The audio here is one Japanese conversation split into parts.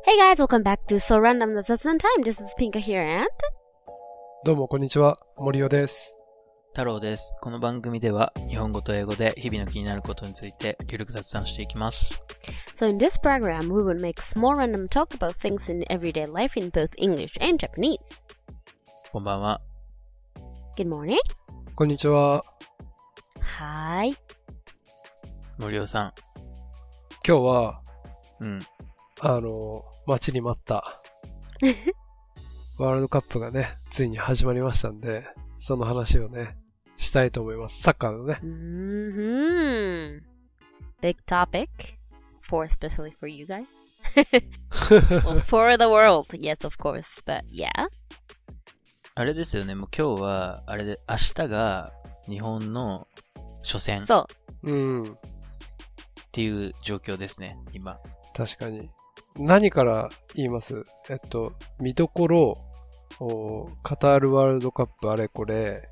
Hey guys, welcome back to So Random the雑談 Time. This is Pinka here and... どうもこんにちは、森尾です。 太郎です。この番組では日本語と英語で日々の気になることについてゆるく雑談していきます。 So in this program, we will make small random talk about things in everyday life in both English and Japanese. こんばんは。 Good morning. こんにちは。 はーい。 森尾さん。 今日は、待ちに待ったワールドカップがね、ついに始まりましたんで、その話をね、したいと思います。サッカーのね。 Big topic, especially for you guys. Well, for the world, yes, of course, but yeah. あれですよね、もう今日は、あれで、明日が日本の初戦。 そう。 っていう状況ですね、今。 確かに。何から言います？見どころ、カタールワールドカップあれこれ。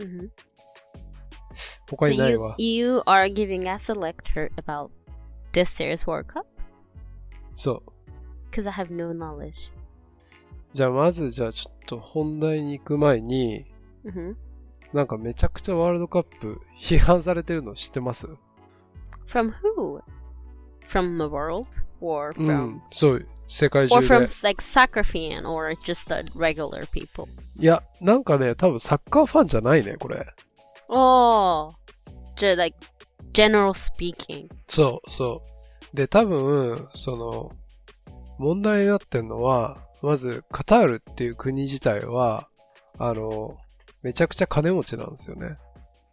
他にないわ。 So you are giving us a lecture about this year's World Cup? そう。 Because I have no knowledge. じゃあまずちょっと本題に行く前に、なんかめちゃくちゃワールドカップ批判されてるの知ってます？ From who? From the world? Or from... そう、世界中で。 Or from like soccer fan or just regular people? いや、なんかね、多分サッカーファンじゃないね、これ。 Oh, just like general speaking. そう。で、多分、問題になってるのは、まず、カタールっていう国自体は、めちゃくちゃ金持ちなんですよね。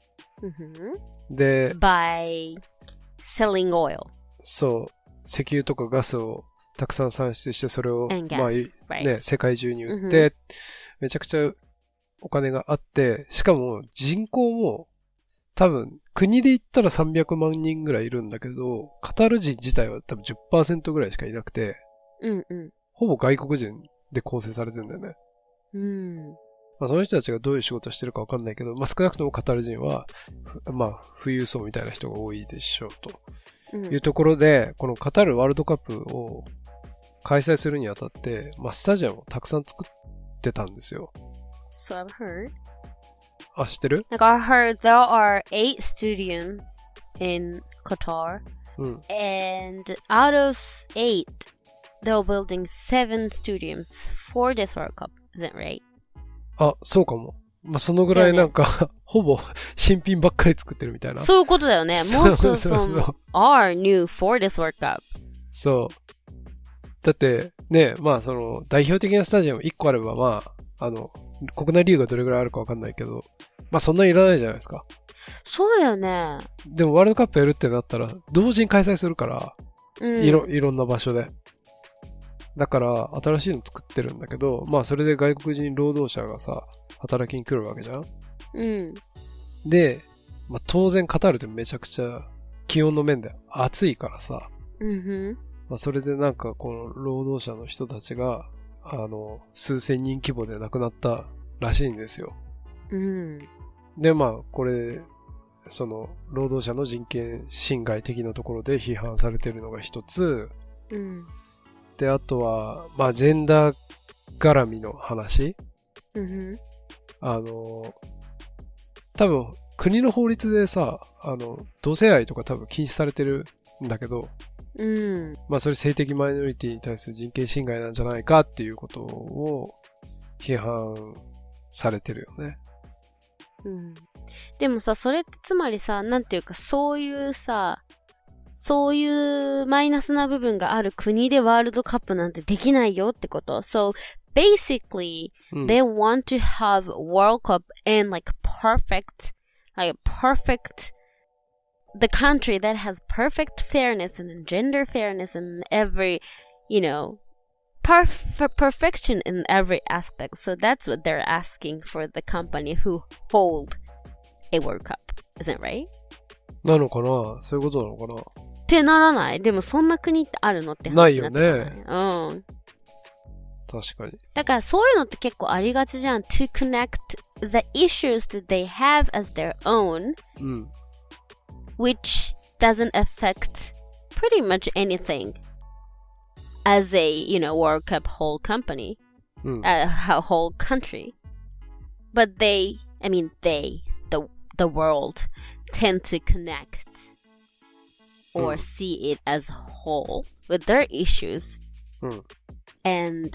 で、 by selling oil. そう。石油とかガスをたくさん産出して、それを、世界中に売って、めちゃくちゃお金があって、しかも人口も多分国で言ったら300万人ぐらいいるんだけど、カタール人自体は多分 10% ぐらいしかいなくて、ほぼ外国人で構成されてるんだよね。まあ、その人たちがどういう仕事してるかわかんないけど、まあ、少なくともカタール人は、まあ、富裕層みたいな人が多いでしょうと。いうところで、このカタールワールドカップを開催するにあたって、まあ、スタジアムをたくさん作ってたんですよ。 So I've heard. あ、知ってる？ Like I heard there are 8 stadiums in Qatar. And out of 8, they're building 7 stadiums for this World Cup. Is that right? あ、そうかも。まあ、そのぐらいなんか、ほぼ新品ばっかり作ってるみたいな。 そういうことだよね。Most of them are new for this World Cup. そう。だって、ね、まあ代表的なスタジアム1個あれば、まあ、国内リーグがどれぐらいあるかわかんないけど、まあそんなにいらないじゃないですか。 そうだよね。 でもワールドカップやるってなったら、同時に開催するから、いろんな場所で。だから、新しいの作ってるんだけど、まあそれで外国人労働者がさ、働きに来るわけじゃん？で、まあ、当然カタールってめちゃくちゃ気温の面で暑いからさ、まあ、それでなんかこの労働者の人たちが、数千人規模で亡くなったらしいんですよ。で、まあ、これ、労働者の人権侵害的なところで批判されてるのが一つ。で、あとは、まあ、ジェンダー絡みの話。多分、国の法律でさ、同性愛とか多分禁止されてるんだけど、まあそれ性的マイノリティに対する人権侵害なんじゃないかっていうことを批判されてるよね。 でもさ、それってつまりさ、なんていうかそういうマイナスな部分がある国でワールドカップなんてできないよってこと。So, basically, they want to have World Cup in like the country that has perfect fairness and gender fairness and every, perfection in every aspect. So that's what they're asking for the company who hold a World Cup. Isn't it right? なのかな？そういうことなのかな？ ってならない？でもそんな国ってあるのって話になってない。ないよね。 確かに。 だからそういうのって結構ありがちじゃん。To connect the issues that they have as their own, which doesn't affect pretty much anything as a, World Cup whole company, whole country. But the world tend to connect or see it as a whole with their issues. And,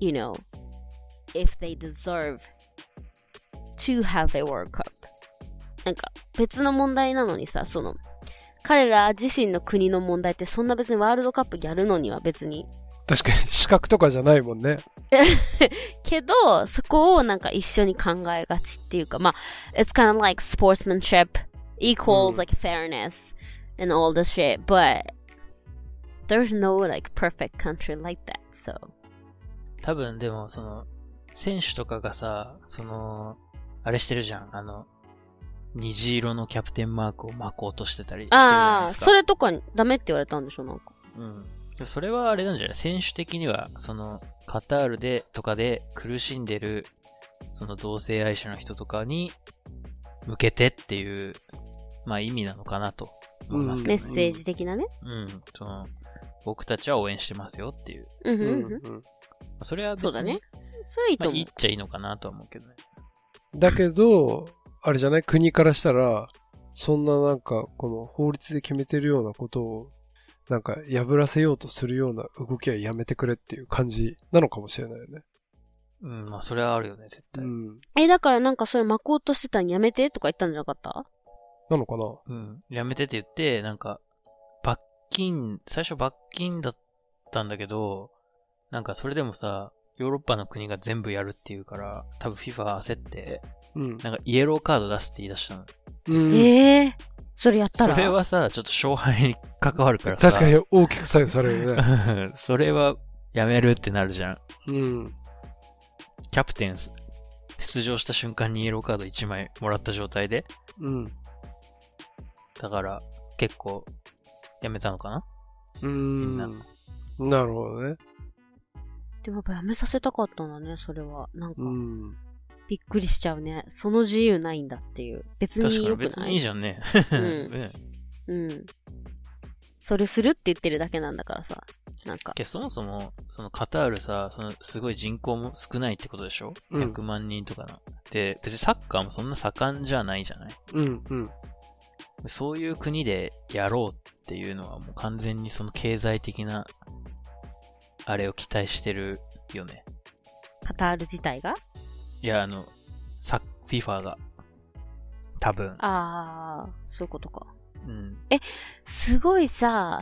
if they deserve to have a World Cup. なんか別の問題なのにさ、彼ら自身の国の問題ってそんな別にワールドカップやるのには別に。 確かに資格とかじゃないもんね。 けど、そこをなんか一緒に考えがちっていうか、まあ、it's kind of like sportsmanship equals like fairness and all the shit, but there's no like perfect country like that, so. 多分でも選手とかがさ、あれしてるじゃん。虹色のキャプテンマークを巻こうとしてたりしてるじゃないですか。 それとかダメって言われたんでしょ、なんか。 それはあれなんじゃない？選手的には、カタールでとかで苦しんでる、同性愛者の人とかに向けてっていう、まあ意味なのかなと思いますけどね。 メッセージ的なね。 僕たちは応援してますよっていう。それは別に、 そうだね。それいいと思う。 まあ、言っちゃいいのかなとは思うけどね。 だけど、あれじゃない？国からしたら、そんななんか、この法律で決めてるようなことを、なんか破らせようとするような動きはやめてくれっていう感じなのかもしれないよね。 まあそれはあるよね、絶対。 だからなんかそれ巻こうとしてたんやめてとか言ったんじゃなかった？ なのかな？ やめてって言って、なんか、最初罰金だったんだけど、なんかそれでもさ、ヨーロッパの国が全部やるっていうから、多分 FIFA が焦って、なんかイエローカード出すって言い出したの。 それやったら？ それはさ、ちょっと勝敗に関わるからさ。 確かに大きく左右されるね。 それはやめるってなるじゃん。キャプテン出場した瞬間にイエローカード1枚もらった状態で。だから結構やめたのかな？みんな。 なるほどね。 でもやっぱやめさせたかったんだね、それは。なんか、びっくりしちゃうね。その自由ないんだっていう。別に良くない？ 確かに別にいいじゃんね。 それするって言ってるだけなんだからさ。なんか。 そもそも、カタールさ、すごい人口も少ないってことでしょ？ 100 万人とかな。で、別にサッカーもそんな盛んじゃないじゃない？そういう国でやろうっていうのはもう完全に経済的な、あれを期待してるよね。 カタール自体が？ いや、FIFA が。多分。 そういうことか。すごいさ、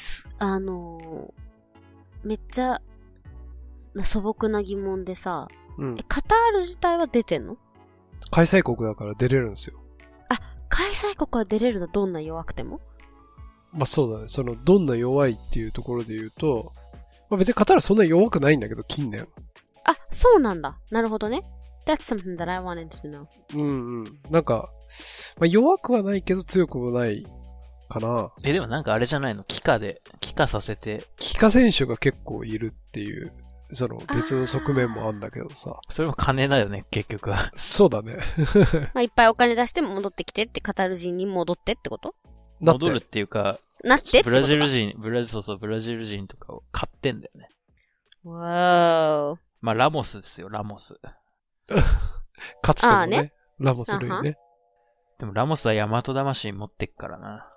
めっちゃ素朴な疑問でさ、カタール自体は出てんの？ 開催国だから出れるんですよ。 開催国は出れるの？どんな弱くても？ まあそうだね。どんな弱いっていうところで言うと、まあ別にカタールそんな弱くないんだけど、近年。 そうなんだ。なるほどね。That's something that I wanted to know. なんか、まあ、弱くはないけど強くもないかな。 でもなんかあれじゃないの？帰化させて。 帰化選手が結構いるっていう、別の側面もあるんだけどさ。 それも金だよね、結局は。 そうだね。 まあいっぱいお金出して戻ってきてって、カタール人に戻ってってこと？ 戻るっていうか、 なってってことか？ ブラジル人とかを買ってんだよね。 わー。 まあラモスですよ、ラモス。 かつてもね、ラモス類ね。 でもラモスは大和魂持ってっからな。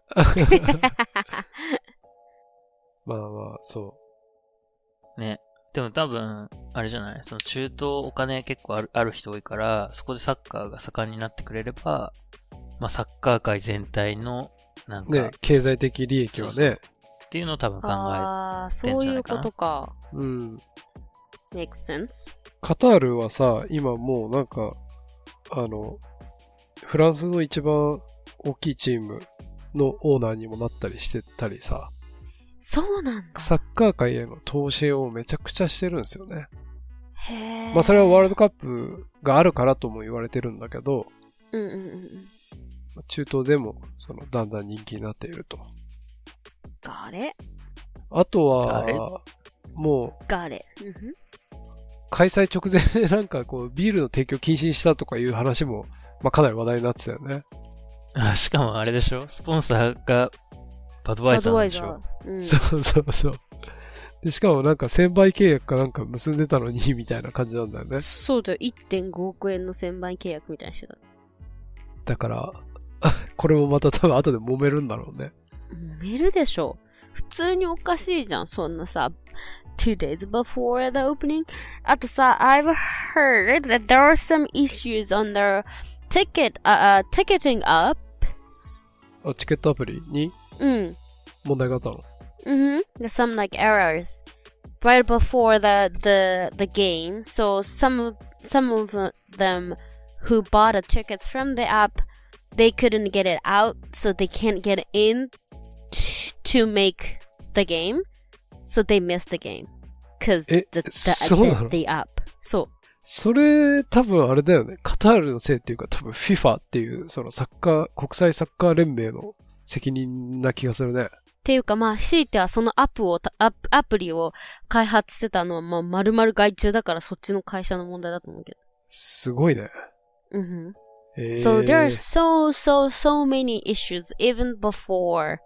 まあまあ、そう。 ね。でも多分、あれじゃない？中東お金結構ある人多いから、そこでサッカーが盛んになってくれれば、まあサッカー界全体の、なんか。 ね、経済的利益はね。 っていうのを多分考えてんじゃないかな。 そういうことか。makes sense. カタールはさ、今もうなんか、フランスの一番大きいチームのオーナーにもなったりしてたりさ。 そうなんだ。 サッカー界への投資をめちゃくちゃしてるんですよね。 へー。 まあそれはワールドカップがあるからとも言われてるんだけど、中東でもだんだん人気になっていると。あとは、もう、開催直前でなんかこうビールの提供禁止にしたとかいう話も、まあかなり話題になってたよね。 しかもあれでしょ？スポンサーがバドワイザーなんでしょ？ そう。 で、しかもなんか1000倍契約かなんか結んでたのに、みたいな感じなんだよね。 そうだよ。1.5 億円の1000倍契約みたいにしてた。 だから、これもまた多分後で揉めるんだろうね。 揉めるでしょ。普通におかしいじゃん。そんなさ、2 days before the opening. あとさ、I've heard that there are some issues on the ticketing up. チケットアプリに問題があったの ？There's some like errors right before the game. So some of them who bought the tickets from the app, they couldn't get it out, so they can't get in to make the game. So they missed the game because the app. そう。 それ多分あれだよね。カタールのせいっていうか多分 FIFA っていうその国際サッカー連盟の責任な気がするね。 っていうかまあ強いてはそのアプリを開発してたのはまあ丸々外注だからそっちの会社の問題だと思うけど。 すごいね。 So there are so many issues even before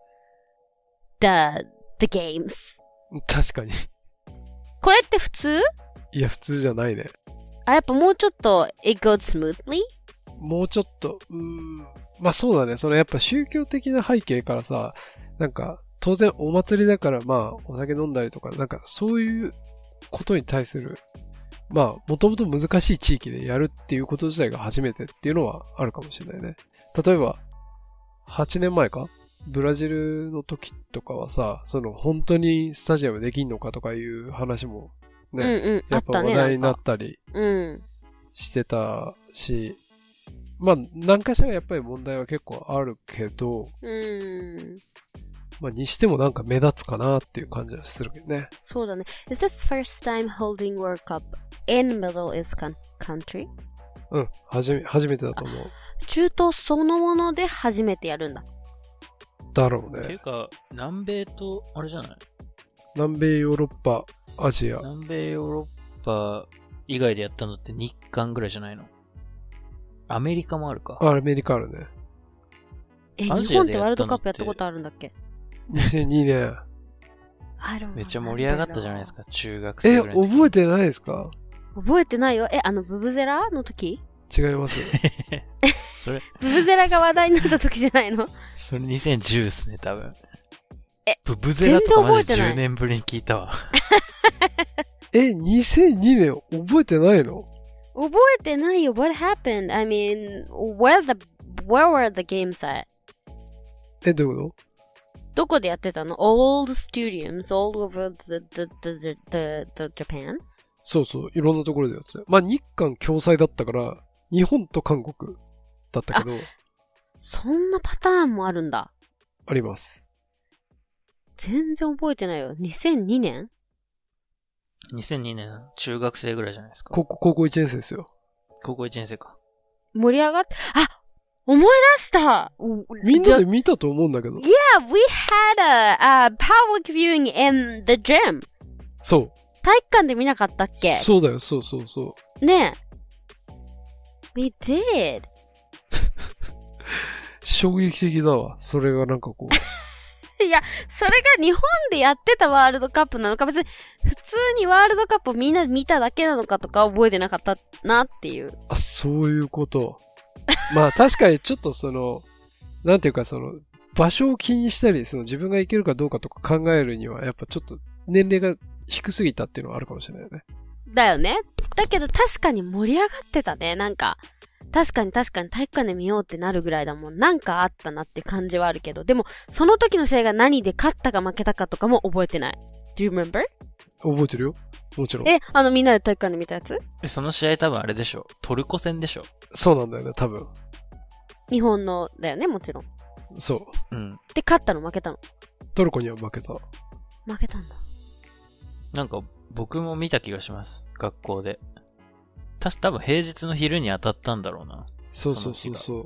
the games. 確かに。 これって普通？ いや普通じゃないね。 やっぱもうちょっと it goes smoothly? もうちょっとまあそうだね。そのやっぱ宗教的な背景からさ、なんか当然お祭りだからまあお酒飲んだりとかなんかそういうことに対するまあもともと難しい地域でやるっていうこと自体が初めてっていうのはあるかもしれないね。例えば8年前かブラジルの時とかはさ、その本当にスタジアムできんのかとかいう話もね、やっぱ話題になったりしてたし、まあ何かしらやっぱり問題は結構あるけど、まあにしてもなんか目立つかなっていう感じはするけどね。 そうだね。Is this first time holding World Cup in Middle East country? 初めてだと思う。 中東そのもので初めてやるんだ。 だろうね。 っていうか、南米と、あれじゃない？ 南米、ヨーロッパ、アジア。 南米、ヨーロッパ以外でやったのって日韓ぐらいじゃないの？アメリカもあるか。 アメリカあるね。 日本ってワールドカップやったことあるんだっけ？ 2002年。 めっちゃ盛り上がったじゃないですか、中学生ぐらいの時。 覚えてないですか？ 覚えてないよ。ブブゼラの時？ 違いますよ。 それブブゼラが話題になった時じゃないの？ それ2010ですね、多分。ブブゼラとかマジ10年ぶりに聞いたわ。 2002年覚えてないの？ 覚えてないよ。What happened? I mean, where were the games at? どういうこと？ どこでやってたの？ Old stadiums all over the Japan? そうそう、いろんなところでやってた。まあ日韓共催だったから、日本と韓国だったけど。 そんなパターンもあるんだ。 あります。 全然覚えてないよ。2002年 ?2002 年、中学生ぐらいじゃないですか。 高校1年生ですよ。 高校1年生か。 盛り上がって、思い出したみんなで見たと思うんだけど。 Yeah, we had a public viewing in the gym. そう。 体育館で見なかったっけ？ そうだよ、そう。 ねえ。We did. 衝撃的だわ。それがなんかこう。いや、それが日本でやってたワールドカップなのか、別に普通にワールドカップをみんな見ただけなのかとか覚えてなかったなっていう。 そういうこと。まあ確かにちょっとなんていうか場所を気にしたり、自分が行けるかどうかとか考えるには、やっぱちょっと年齢が低すぎたっていうのはあるかもしれないよね。 だよね。だけど確かに盛り上がってたね。なんか、確かに体育館で見ようってなるぐらいだもん。なんかあったなって感じはあるけど、でも、その時の試合が何で勝ったか負けたかとかも覚えてない。Do you remember? 覚えてるよ。もちろん。 みんなで体育館で見たやつ？ その試合多分あれでしょ。トルコ戦でしょ。 そうなんだよね、多分。 日本のだよね、もちろん。 そう。 で、勝ったの負けたの？ トルコには負けた。 負けたんだ。 なんか、僕も見た気がします。学校で。多分平日の昼に当たったんだろうな。 そう。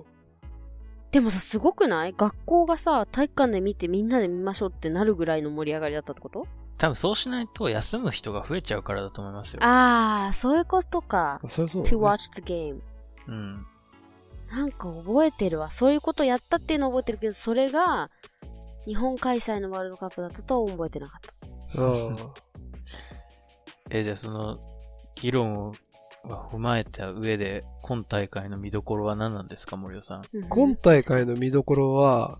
でもさ、すごくない？学校がさ、体育館で見てみんなで見ましょうってなるぐらいの盛り上がりだったってこと？ 多分そうしないと休む人が増えちゃうからだと思いますよ。 そういうことか。 そうだね。 To watch the game. なんか覚えてるわ。そういうことやったっていうのは覚えてるけど、それが日本開催のワールドカップだったとは覚えてなかった。 じゃあその、議論を踏まえた上で、今大会の見どころは何なんですか、森尾さん。 今大会の見どころは、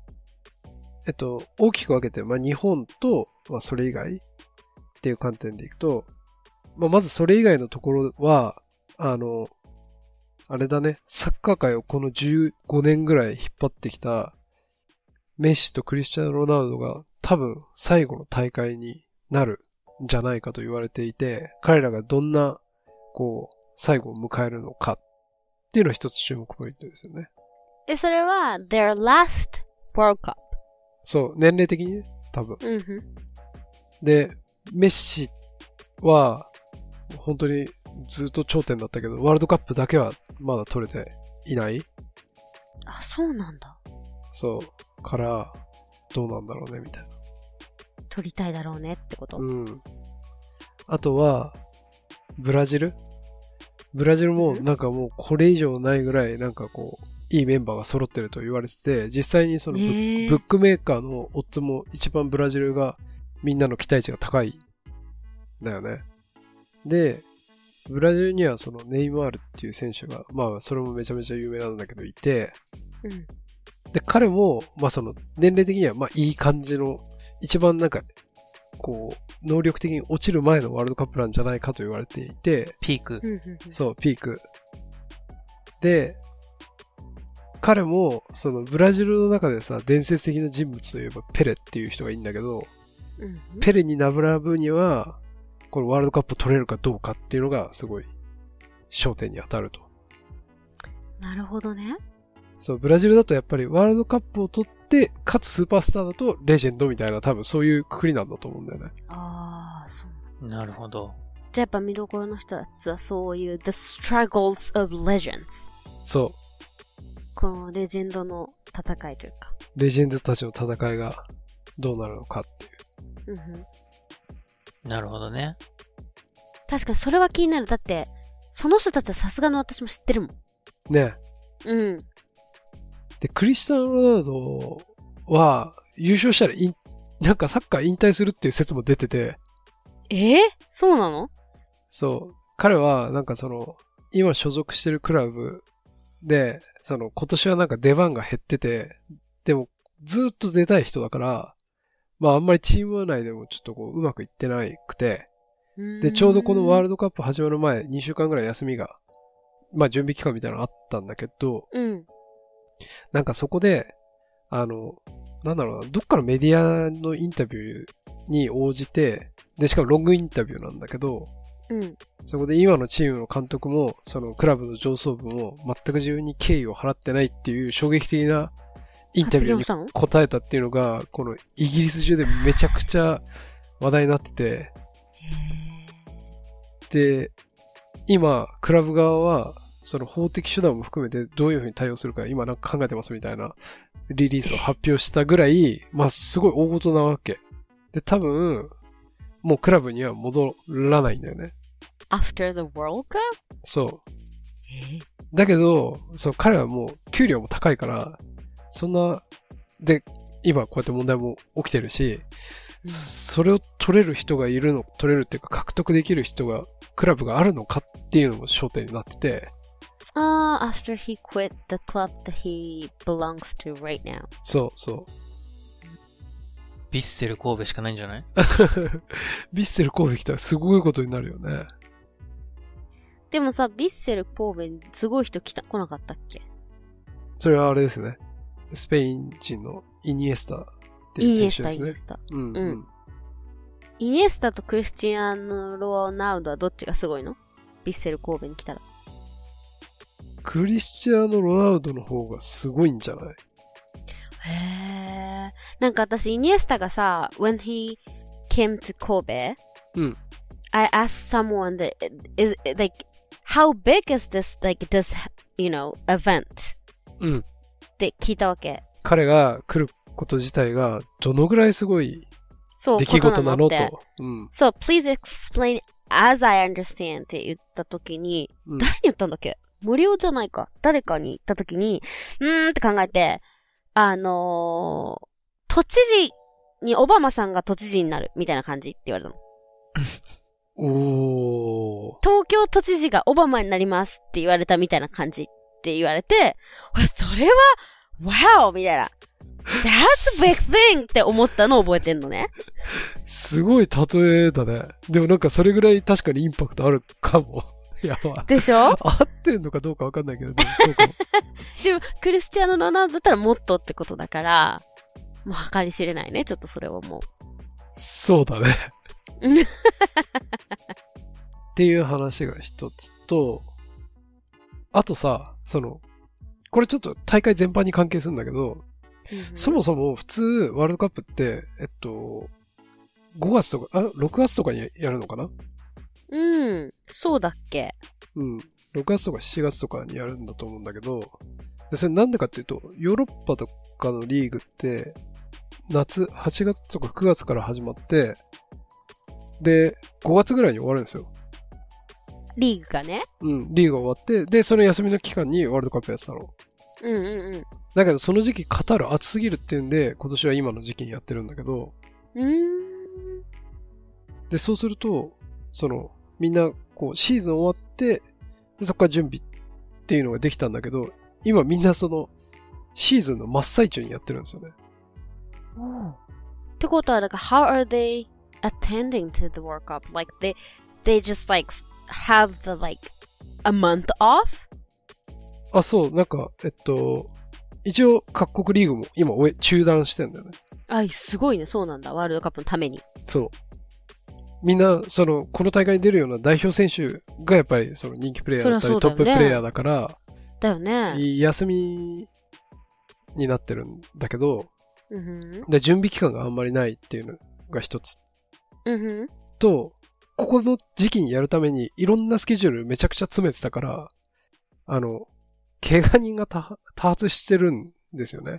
大きく分けて、日本と、それ以外っていう観点でいくと、まずそれ以外のところは、あれだね、サッカー界をこの15年ぐらい引っ張ってきた、メッシとクリスチャーノ・ロナウドが多分最後の大会になるんじゃないかと言われていて、彼らがどんな、最後を迎えるのかっていうのは一つ注目ポイントですよね。 それは、their last World Cup。 そう、年齢的にね、多分。で、メッシは、本当にずっと頂点だったけど、ワールドカップだけはまだ取れていない。 あ、そうなんだ。 そう。から、どうなんだろうね、みたいな。 取りたいだろうねってこと。 あとは、ブラジルもなんかもうこれ以上ないぐらいなんかいいメンバーが揃ってると言われてて、実際にそのブックメーカーのオッズも一番ブラジルがみんなの期待値が高いんだよね。で、ブラジルにはそのネイマールっていう選手が、それもめちゃめちゃ有名なんだけどいて、で、彼も、その年齢的にはいい感じの、一番なんか、能力的に落ちる前のワールドカップなんじゃないかと言われていて、 ピーク。 そう、ピーク。で、彼も、そのブラジルの中でさ、伝説的な人物といえばペレっていう人がいいんだけど、ペレに並ぶには、このワールドカップを取れるかどうかっていうのがすごい焦点に当たると。 なるほどね。 そう、ブラジルだとやっぱりワールドカップを取って、かつスーパースターだとレジェンドみたいな多分そういうくくりなんだと思うんだよね。 ああ、そう。 なるほど。 じゃあやっぱ見どころの人たちはそういう The Struggles of Legends。 そう。 このレジェンドの戦いというか。 レジェンドたちの戦いがどうなるのかっていう。 なるほどね。 確かにそれは気になる。だって、その人たちはさすがの私も知ってるもん。 ね。で、クリスチャン・ロナウドは優勝したらなんかサッカー引退するっていう説も出てて。 そうなの？ そう。彼はなんか今所属してるクラブで、今年はなんか出番が減ってて、でもずっと出たい人だから、あんまりチーム内でもちょっとうまくいってなくて、で、ちょうどこのワールドカップ始まる前、2週間ぐらい休みが、準備期間みたいなのあったんだけど、なんかそこで、なんだろうな、どっかのメディアのインタビューに応じて、で、しかもロングインタビューなんだけど、そこで今のチームの監督も、そのクラブの上層部も全く自分に敬意を払ってないっていう衝撃的なインタビューに答えたっていうのが、このイギリス中でめちゃくちゃ話題になってて、で、今、クラブ側は、その法的手段も含めてどういうふうに対応するか今なんか考えてますみたいなリリースを発表したぐらい、すごい大事なわけ。で、多分、もうクラブには戻らないんだよね。 After the World Cup？ そう。だけど、彼はもう給料も高いから、そんな、で、今こうやって問題も起きてるし、それを取れる人がいるの、取れるっていうか獲得できる人が、クラブがあるのかっていうのも焦点になってて。 after he quit the club that he belongs to right now. そう。 ヴィッセル神戸しかないんじゃない？ ヴィッセル神戸来たらすごいことになるよね。 でもさ、ヴィッセル神戸にすごい人来なかったっけ？ それはあれですね。スペイン人のイニエスタっていう選手ですね。 イニエスタ。イニエスタとクリスチアーノ・ロナウドはどっちがすごいの？ヴィッセル神戸に来たら。 クリスチアーノ・ロナウドの方がすごいんじゃない？ へー。なんか私、イニエスタがさ、when he came to Kobe, I asked someone that is like, how big is this, like this, event? って聞いたわけ。 彼が来ること自体がどのぐらいすごい出来事なのと。 So, please explain as I understand って言ったときに、誰に言ったんだっけ？森尾じゃないか。誰かに言ったときに、って考えて、都知事にオバマさんが都知事になるみたいな感じって言われたの。 おー。 東京都知事がオバマになりますって言われたみたいな感じって言われて、それは、wow! みたいな。That's a big thing! って思ったのを覚えてんのね。 すごい例えだね。でもなんかそれぐらい確かにインパクトあるかも。やば。 でしょ？ 合ってんのかどうかわかんないけど、でもそうかも。 でも、クリスチアーノ・ロナウドだったらもっとってことだから、もう計り知れないね、ちょっとそれはもう。 そうだね。っていう話が一つと、あとさ、これちょっと大会全般に関係するんだけど、そもそも普通ワールドカップって、5月とか、6月とかにやるのかな？ そうだっけ？ 6月とか7月とかにやるんだと思うんだけど、でそれなんでかっていうと、ヨーロッパとかのリーグって、夏、8月とか9月から始まって、で、5月ぐらいに終わるんですよ。 リーグがね。 リーグが終わって、で、その休みの期間にワールドカップやってたの。だけど、その時期カタール暑すぎるっていうんで、今年は今の時期にやってるんだけど、で、そうすると、みんな、シーズン終わって、でそこから準備っていうのができたんだけど、今みんなシーズンの真っ最中にやってるんですよね。 ってことは、how are they attending to the World Cup? Like, they just have the a month off? そう、一応各国リーグも今中断してんだよね。 すごいね、そうなんだ、ワールドカップのために。 そう。みんな、この大会に出るような代表選手がやっぱり人気プレイヤーだったり、トッププレイヤーだから、 だよね。 休みになってるんだけど、で準備期間があんまりないっていうのが一つ。と、ここの時期にやるためにいろんなスケジュールめちゃくちゃ詰めてたから、怪我人が多発してるんですよね。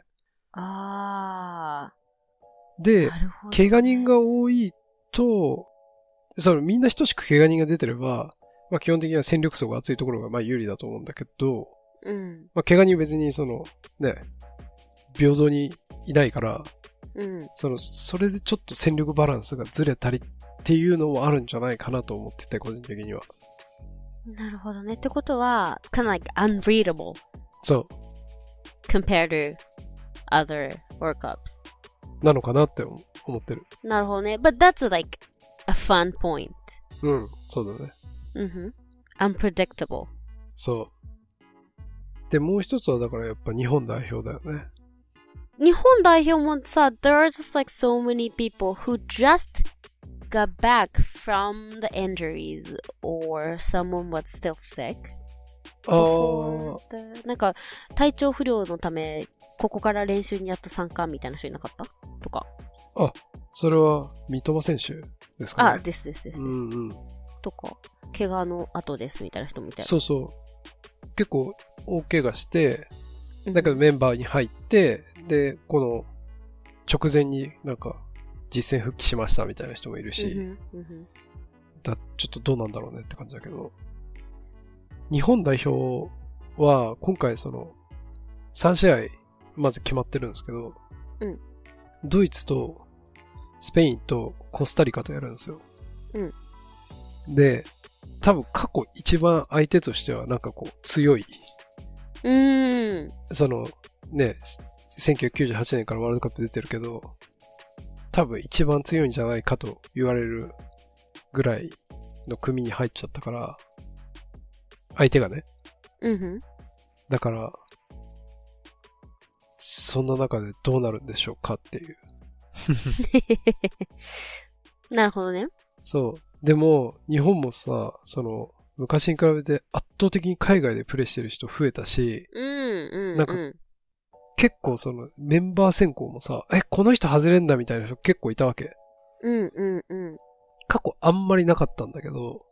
で、怪我人が多いと、みんな等しく怪我人が出てれば、基本的には戦力層が厚いところが有利だと思うんだけど、怪我人別に平等にいないから、それでちょっと戦力バランスがずれたりっていうのもあるんじゃないかなと思ってて、個人的には。 なるほどね。ってことは、kind of unreadable. そう。 compared to other World Cups. なのかなって思ってる。 なるほどね。But that's a fun point. そうだね。 unpredictable. そう。で、もう一つはだからやっぱ日本代表だよね。 日本代表もさ、there are just so many people who just got back from the injuries or someone was still sick. 体調不良のため、ここから練習にやっと参加みたいな人いなかったとか。 それは三笘選手ですかね。 です。とか、怪我の後ですみたいな人みたいな。 そうそう。結構大怪我して、だけどメンバーに入って、で、この直前に実戦復帰しましたみたいな人もいるし、ちょっとどうなんだろうねって感じだけど、日本代表は今回3試合まず決まってるんですけど、ドイツとスペインとコスタリカとやるんですよ。で、多分過去一番相手としては強い。1998年からワールドカップ出てるけど、多分一番強いんじゃないかと言われるぐらいの組に入っちゃったから、相手がね。だから、そんな中でどうなるんでしょうかっていう。 なるほどね。 そう。でも、日本もさ、昔に比べて圧倒的に海外でプレイしてる人増えたし、結構メンバー選考もさ、この人外れんだみたいな人結構いたわけ。過去あんまりなかったんだけど、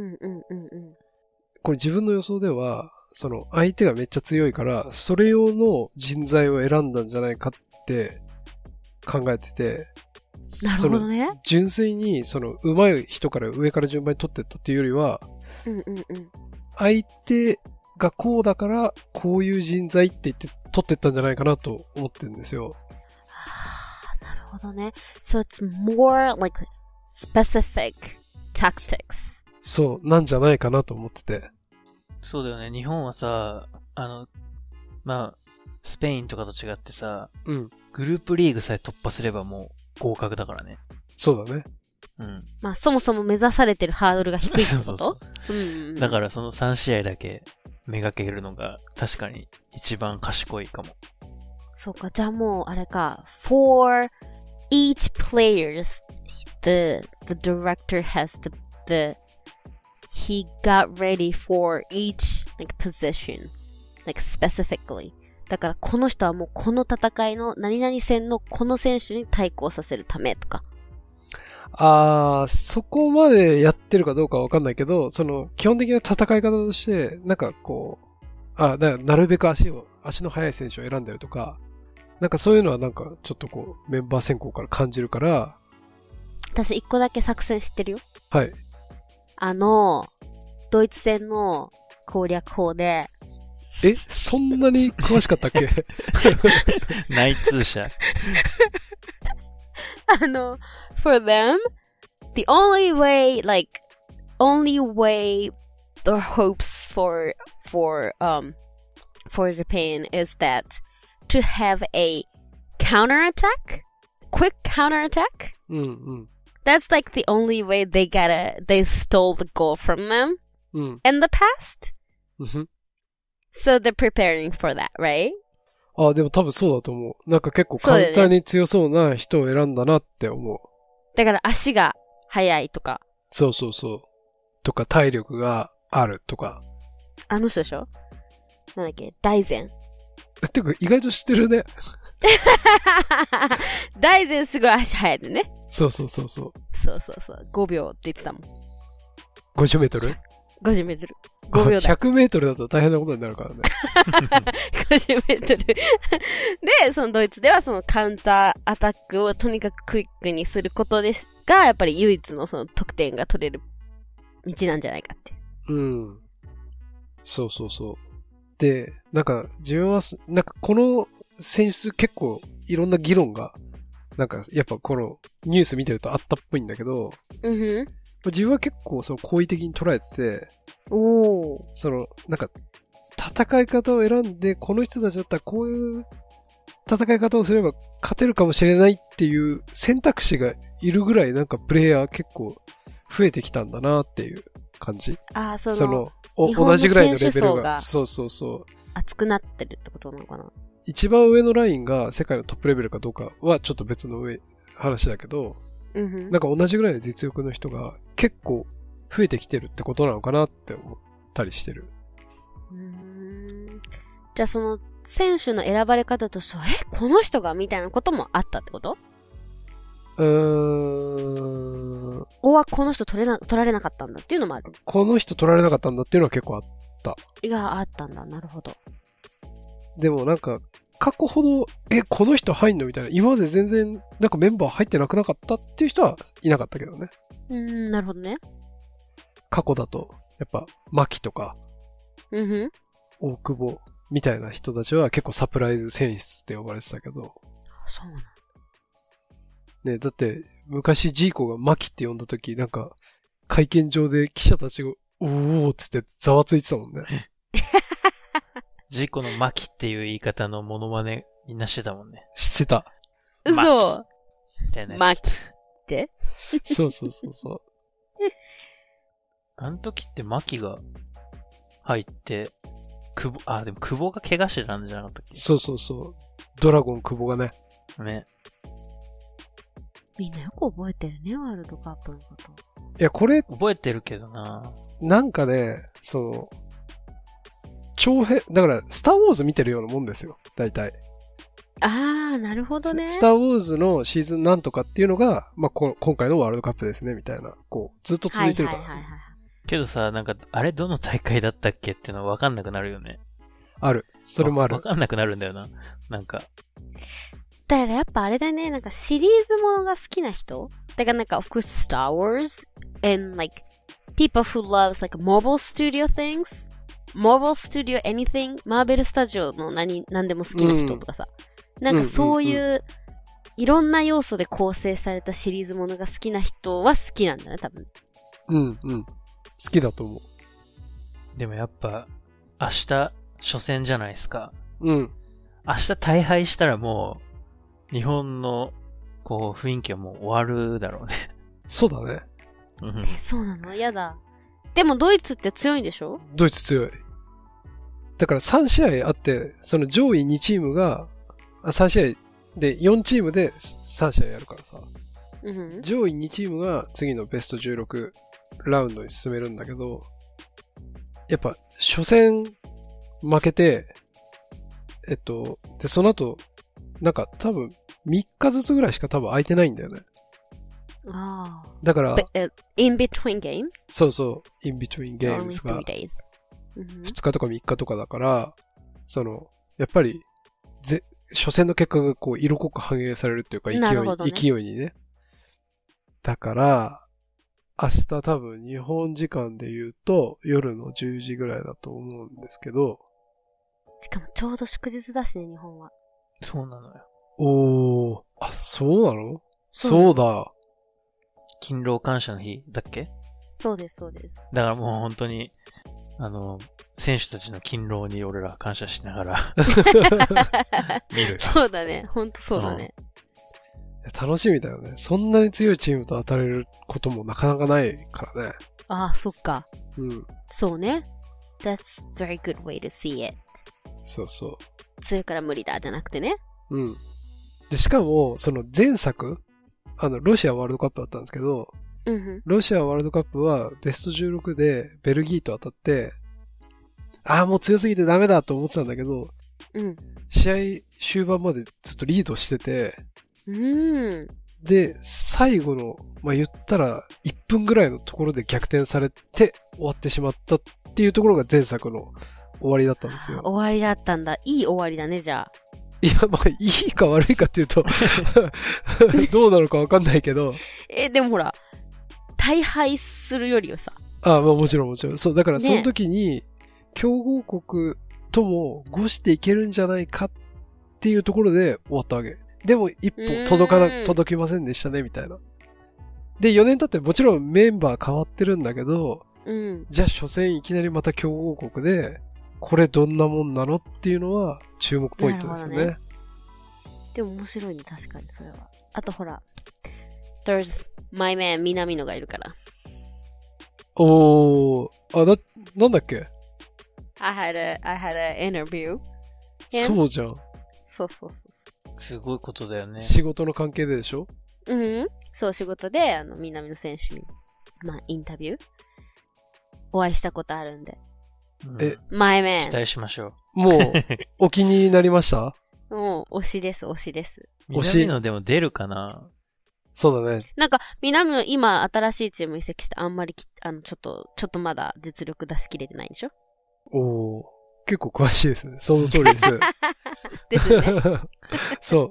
これ自分の予想では、相手がめっちゃ強いから、それ用の人材を選んだんじゃないかって考えてて、 なるほどね。 純粋に上手い人から上から順番に取ってったっていうよりは、相手がこうだからこういう人材って言って取ってったんじゃないかなと思ってるんですよ。 なるほどね。So it's more specific tactics. そう、なんじゃないかなと思ってて。 そうだよね。日本はさ、まあ、スペインとかと違ってさ、 うん。 グループリーグさえ突破すればもう合格だからね。 そうだね。 うん。 まあ、そもそも目指されてるハードルが低いってこと？ そう。うん。だからその3試合だけめがけるのが確かに一番賢いかも。 そうか、じゃあもうあれか、for each players, the director has he got ready for each like position, like specifically. だからこの人はもうこの戦いの何々戦のこの選手に対抗させるためとか。 そこまでやってるかどうかわかんないけど、その基本的な戦い方として、なんかこう、だからなるべく足の速い選手を選んでるとか、なんかそういうのはなんかちょっとこうメンバー選考から感じるから。 私一個だけ作戦知ってるよ。 はい。 ドイツ戦の攻略法で。 そんなに詳しかったっけ？ 内通者。 for them, the only way their hopes for Japan is that to have a counterattack, quick counterattack. That's like the only way they stole the goal from them in the past. So they're preparing for that, right? でも多分そうだと思う。なんか結構簡単に強そうな人を選んだなって思う。 だから足が速いとか。 そうそうそう。とか体力があるとか。 あの人でしょ？なんだっけ？大然。 てか意外と知ってるね。 大然すごい足速いでね。 そうそうそうそう。 そうそうそう。5秒って言ってたもん。 50メートル ？50メートル。5秒だ。 100メートルだと大変なことになるからね。 50メートル。で、そのドイツではそのカウンターアタックをとにかくクイックにすることですが、やっぱり唯一のその得点が取れる道なんじゃないかって。 うん。そうそうそう。で、なんか自分は、なんかこの選出結構いろんな議論が、なんかやっぱこのニュース見てるとあったっぽいんだけど、自分は結構その好意的に捉えてて、そのなんか戦い方を選んでこの人たちだったらこういう戦い方をすれば勝てるかもしれないっていう選択肢がいるぐらいなんかプレイヤー結構増えてきたんだなっていう感じ。 その同じぐらいのレベルがそうそうそう熱くなってるってことなのかな。 一番上のラインが世界のトップレベルかどうかはちょっと別の話だけど、なんか同じぐらいの実力の人が結構増えてきてるってことなのかなって思ったりしてる。 じゃあその選手の選ばれ方としては、この人がみたいなこともあったってこと？この人取られなかったんだっていうのもある。 この人取られなかったんだっていうのは結構あった。 あったんだ。なるほど。 でもなんか過去ほどこの人入んのみたいな、今まで全然なんかメンバー入ってなくなかったっていう人はいなかったけどね。 なるほどね。 過去だとやっぱ牧とか大久保みたいな人たちは結構サプライズ選出って呼ばれてたけど。 そうなんだ。 ね、だって昔ジーコが牧って呼んだ時なんか会見場で記者たちがおーっつってざわついてたもんね。 ジーコの牧っていう言い方のモノマネみんなしてたもんね。 してた。 嘘。 牧ってそうそうそうそう。 あの時って牧が入って、でも久保が怪我してたんじゃなかったっけ？ そうそうそう。ドラゴン久保がね。 ね。 みんなよく覚えてるね、ワールドカップのこと。 いや、これ。 覚えてるけどな。 なんかね、だから、スターウォーズ見てるようなもんですよ、大体。 なるほどね。 スターウォーズのシーズンなんとかっていうのが、まあ、今回のワールドカップですね、みたいな、ずっと続いてるから。 けどさ、なんか、あれどの大会だったっけっていうのは分かんなくなるよね。 ある。それもある。 分かんなくなるんだよな。なんか。 だからやっぱあれだね、なんかシリーズものが好きな人？だからなんか、of course, Star Wars and like, people who loves like Marvel Studio things?Marvel Studio anything? マーベルスタジオの何でも好きな人とかさ。なんかそういう、いろんな要素で構成されたシリーズものが好きな人は好きなんだね、多分。 うんうん。好きだと思う。 でもやっぱ、明日、初戦じゃないですか。 うん。 明日大敗したらもう、日本の、こう、雰囲気はもう終わるだろうね。 そうだね。 そうなの？やだ。でもドイツって強いんでしょ？ ドイツ強い。だから3試合あって、その上位2チームが、3試合で4チームで3試合やるからさ。上位2チームが次のベスト16ラウンドに進めるんだけど、やっぱ初戦負けて、で、その後、なんか多分3日ずつぐらいしか多分空いてないんだよね。 ああ。 だから、 in between games? そうそう、in between games が2日とか3日とかだから、やっぱり、初戦の結果がこう色濃く反映されるっていうか勢いにね。だから、明日多分日本時間で言うと夜の10時ぐらいだと思うんですけど。 しかもちょうど祝日だしね、日本は。 そうなのよ。 おー、あ、そうなの？そうだ。 勤労感謝の日だっけ？ そうです、そうです。 だからもう本当に、選手たちの勤労に俺ら感謝しながら見るよ。 そうだね、ほんとそうだね。 楽しみだよね。そんなに強いチームと当たれることもなかなかないからね。 ああ、そっか。 うん。 そうね。That's very good way to see it. そうそう。 強いから無理だじゃなくてね。 うん。で、しかも、その前作、ロシアワールドカップだったんですけど、ロシアワールドカップはベスト16でベルギーと当たって、ああ、もう強すぎてダメだと思ってたんだけど、試合終盤までずっとリードしてて、で、最後の、言ったら1分ぐらいのところで逆転されて終わってしまったっていうところが前作の終わりだったんですよ。 終わりだったんだ。いい終わりだね、じゃあ。 いや、いいか悪いかっていうとどうなのかわかんないけど。 でもほら、大敗するよりはさ。 もちろんもちろん。そう、だからその時に、強豪国ともごしていけるんじゃないかっていうところで終わったわけ。でも一歩届きませんでしたね、みたいな。で、4年経ってもちろんメンバー変わってるんだけど、じゃあ初戦いきなりまた強豪国で、これどんなもんなのっていうのは注目ポイントですよね。 でも面白いね、確かにそれは。あとほら、There's my man 南野がいるから。 なんだっけ？ I had an interview. そうじゃん。 そう。 すごいことだよね。 仕事の関係ででしょ？ そう、仕事で、南野選手に、インタビューお会いしたことあるんで。マイメン。 期待しましょう。もう、お気になりました？ もう、推しです。 南野でも出るかな？ そうだね。 なんか、南野今、新しいチーム移籍して、あんまりちょっとまだ実力出し切れてないでしょ？ 結構詳しいですね。その通りです。 ですね。 そう。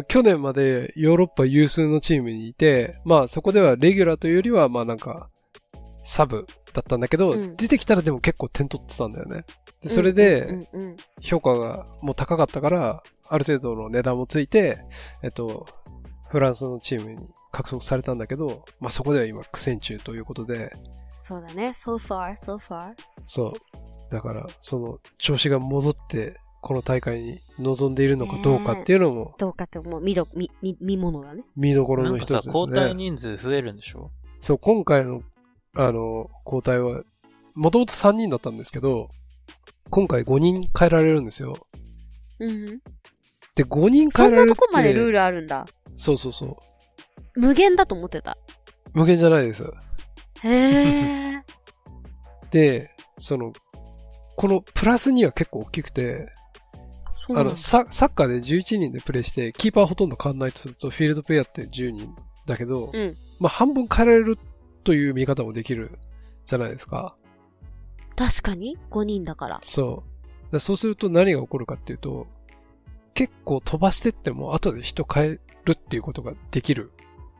去年までヨーロッパ有数のチームにいて、そこではレギュラーというよりは、なんか、サブだったんだけど、出てきたらでも結構点取ってたんだよね。でそれで、評価がもう高かったから、ある程度の値段もついて、フランスのチームに獲得されたんだけど、そこでは今苦戦中ということで。 そうだね。so far. そう。だから、その調子が戻って、この大会に臨んでいるのかどうかっていうのも。 どうかってもう見ものだね。 見どころの一つですね。 交代人数増えるんでしょ？ そう、今回の、交代は、もともと3人だったんですけど、今回5人変えられるんですよ。で、5人変えられるって。そんなとこまでルールあるんだ。 そう。 無限だと思ってた。 無限じゃないです。 へー。 で、このプラスには結構大きくて、サッカーで11人でプレイして、キーパーほとんど変わんないとすると、フィールドプレイヤーって10人だけど、半分変えられるという見方もできるじゃないですか。 確かに5人だから。 そうすると何が起こるかっていうと、結構飛ばしてっても後で人変えるっていうことができる。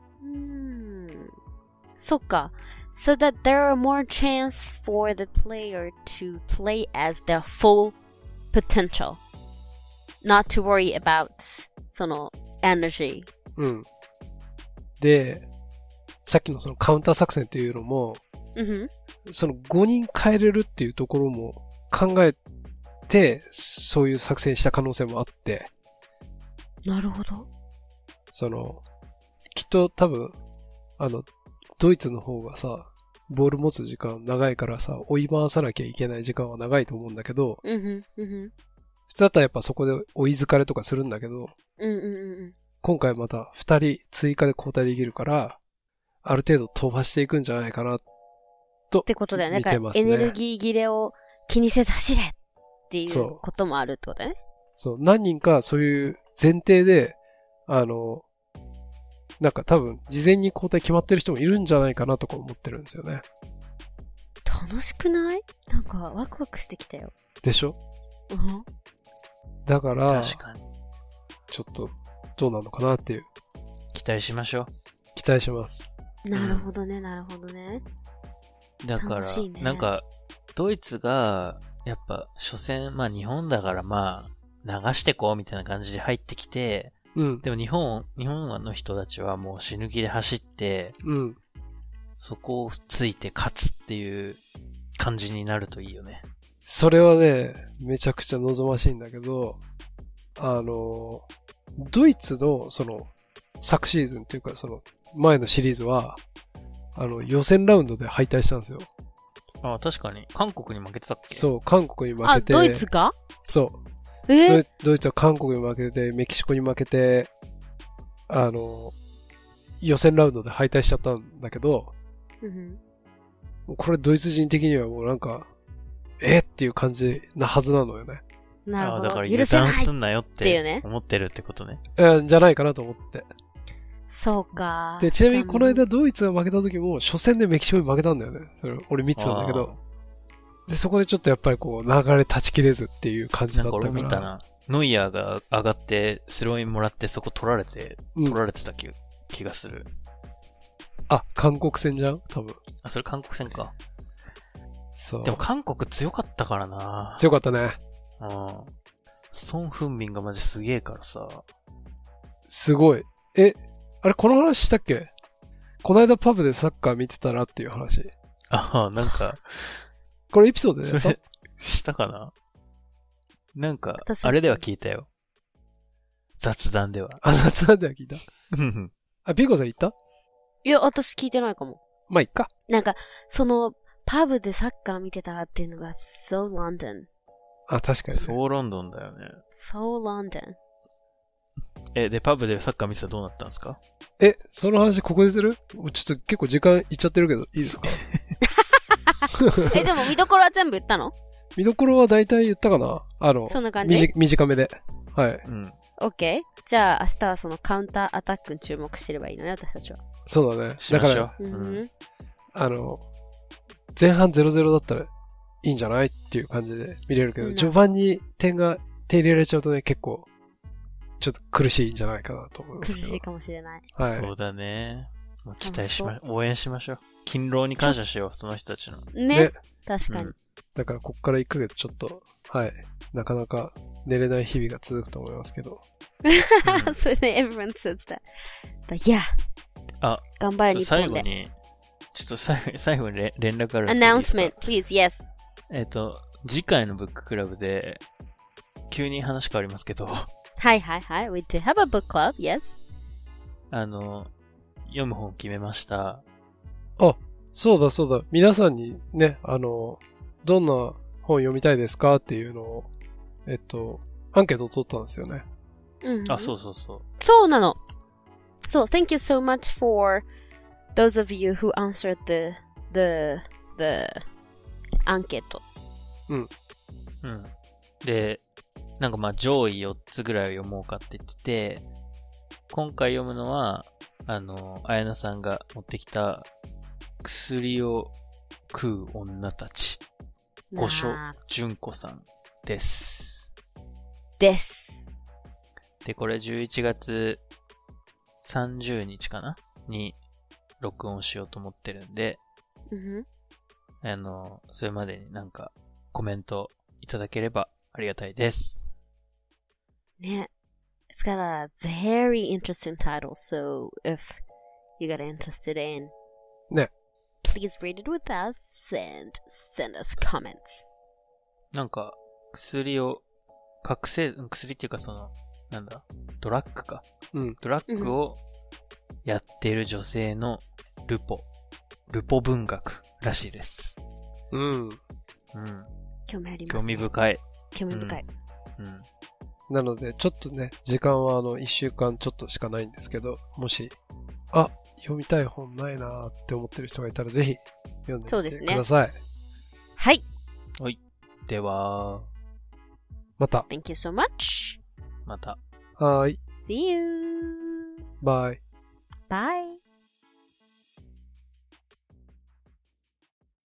そっか。So that there are more chance for the player to play as their full potential. Not to worry about その energy. で、 さっきのそのカウンター作戦っていうのも、その5人変えれるっていうところも考えて、そういう作戦した可能性もあって。 なるほど。 きっと多分、ドイツの方がさ、ボール持つ時間長いからさ、追い回さなきゃいけない時間は長いと思うんだけど、普通だったらやっぱそこで追い疲れとかするんだけど、今回また2人追加で交代できるから、ある程度飛ばしていくんじゃないかな、と。 ってことだよね。だからエネルギー切れを気にせず走れっていうこともあるってことだね。 そう。何人かそういう前提で、なんか多分事前に交代決まってる人もいるんじゃないかなとか思ってるんですよね。 楽しくない？なんかワクワクしてきたよ。 でしょ？だから、 確かに。 ちょっとどうなのかなっていう。 期待しましょう。 期待します。 なるほどね、なるほどね。 だから、なんか、ドイツが、やっぱ、初戦、まあ日本だからまあ、流してこうみたいな感じで入ってきて、でも日本の人たちはもう死ぬ気で走って、そこをついて勝つっていう感じになるといいよね。 それはね、めちゃくちゃ望ましいんだけど、ドイツの昨シーズンというか前のシリーズは、予選ラウンドで敗退したんですよ。 ああ、確かに。韓国に負けてたっけ？ そう、韓国に負けて。 ドイツか？ そう。ドイツは韓国に負けて、メキシコに負けて、予選ラウンドで敗退しちゃったんだけど、これドイツ人的にはもうなんか、っていう感じなはずなのよね。 なるほど。 だから油断すんなよって思ってるってことね。 じゃないかなと思って。 そうか。 で、ちなみにこの間ドイツが負けた時も、初戦でメキシコに負けたんだよね。それ、俺見てたんだけど。で、そこでちょっとやっぱりこう、流れ断ち切れずっていう感じだったから。 なんか俺見たな。ノイアーが上がって、スローインもらってそこ取られてた気がする。 あ、韓国戦じゃん多分。 あ、それ韓国戦か。 そう。 でも韓国強かったからな。 強かったね。 ソン・フンミンがマジすげえからさ。 すごい。あれ、この話したっけ？この間パブでサッカー見てたらっていう話。 ああ、なんか。 これエピソードでやった？ それ、したかな？なんか、あれでは聞いたよ。雑談では。 あ、雑談では聞いた。あ、ピーコさん言った？ いや、私聞いてないかも。 まあ、いっか。 なんか、パブでサッカー見てたっていうのが、so London。 あ、確かに、ね。 そうロンドンだよね。 so London。 で、パブでサッカー見てたらどうなったんですか？ その話ここでする？ちょっと結構時間いっちゃってるけど、いいですか？ でも見どころは全部言ったの？ 見どころは大体言ったかな？ そんな感じ？ 短めで。はい。 OK。じゃあ明日はそのカウンターアタックに注目してればいいのね、私たちは。 そうだね。だから、前半 0-0 だったらいいんじゃないっていう感じで見れるけど、序盤に点入れられちゃうとね、結構、ちょっと苦しいんじゃないかなと思いますけど。 苦しいかもしれない。 はい。 そうだね。期待応援しましょう。勤労に感謝しよう、その人たちの。 ね。確かに。 だから、こっから1ヶ月ちょっと、はい。なかなか寝れない日々が続くと思いますけど。 それで everyone says that. But yeah. 頑張れ日本で。 最後に連絡あるんですけど。 announcement, please, yes. 次回のブッククラブで、急に話変わりますけど。 はいはいはい。We do have a book club, yes. 読む本決めました。 あ、そうだそうだ。皆さんにね、どんな本読みたいですかっていうのを、アンケートを取ったんですよね。 あ、そうそうそう。 そうなの。So, thank you so much for those of you who answered the アンケート。 で、なんかまあ上位4つぐらいを読もうかって言ってて、今回読むのは、綾菜さんが持ってきた薬を食う女たち。五所純子さんです。 です。 で、これ11月30日かなに録音しようと思ってるんで、それまでになんかコメントいただければありがたいです。 ね。It's got a very interesting title, so if you got interested in ね。 Please read it with us and send us comments. なんか、薬っていうかドラッグか。 うん。 ドラッグをやっている女性のルポ文学らしいです。 うん。 うん。 興味ありますね。 興味深い。 興味深い。 うん。 なので、ちょっとね、時間は1週間ちょっとしかないんですけど、もし、読みたい本ないなーって思ってる人がいたら、ぜひ読んでみてください。 はい。 はい。では、 また。 Thank you so much. また。 はーい。 See you. Bye. Bye.